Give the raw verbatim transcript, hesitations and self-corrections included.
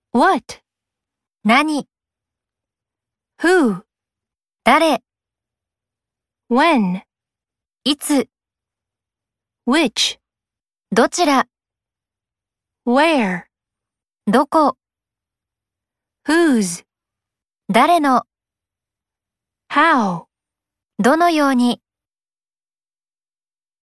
What? 何、 Who? 誰、 When? いつ、 Which? どちら、 Where? どこ、 Whose? 誰の、 How? どのように。